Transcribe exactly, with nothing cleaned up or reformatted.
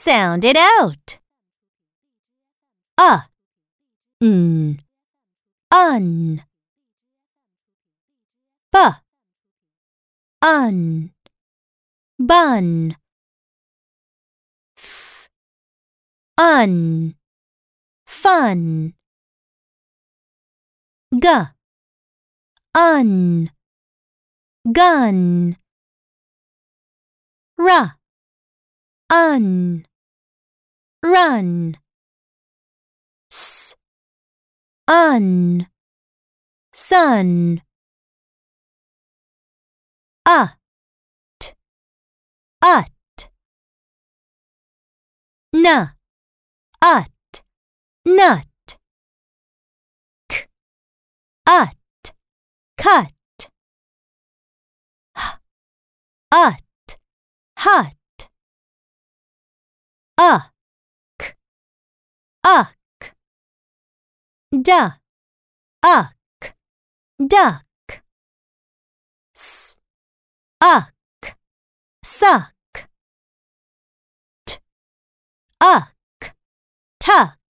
Sound it out. Uh, n, un. B, un, bun. F, un, fun. G, un, gun. R, un, run. S, un, sun. A, t, ut. N, ut, nut. K, ut, cut. H, ut, hut. A, k, uck. D, uck, duck. S, uck, suck. T, uck, tuck.